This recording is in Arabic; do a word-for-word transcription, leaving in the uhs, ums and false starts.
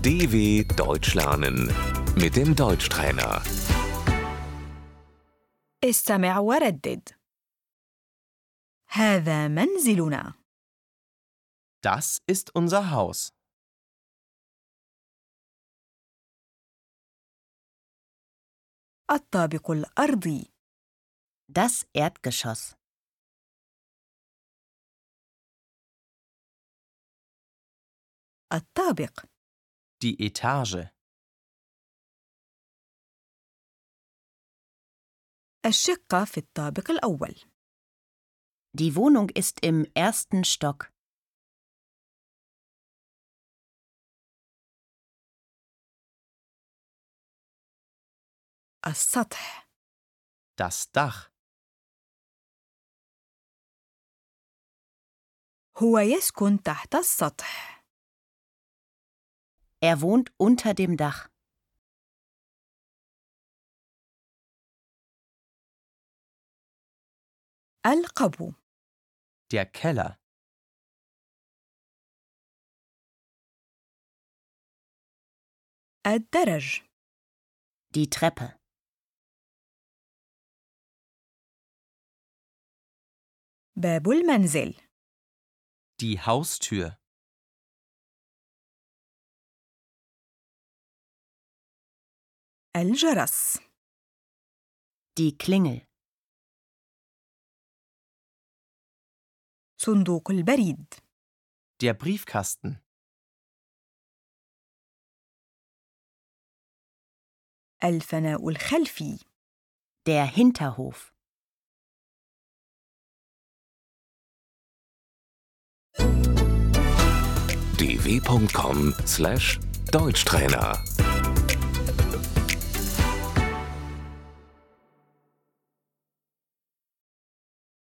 D W Deutsch lernen mit dem Deutschtrainer. استمع وردد. هذا منزلنا. Das ist unser Haus. الطابق الأرضي. Das Erdgeschoss. الطابق. Die Etage. الشقة في الطابق الأول. Die Wohnung ist im ersten Stock. السطح. Das Dach. هو يسكن تحت السطح. Er wohnt unter dem Dach. القبو. Der Keller. الدرج. Die Treppe. باب المنزل. Die Haustür. الجرس. Die Klingel. صندوق البريد. Der Briefkasten. الفناء الخلفي. Der Hinterhof. d w punkt com slash Deutschtrainer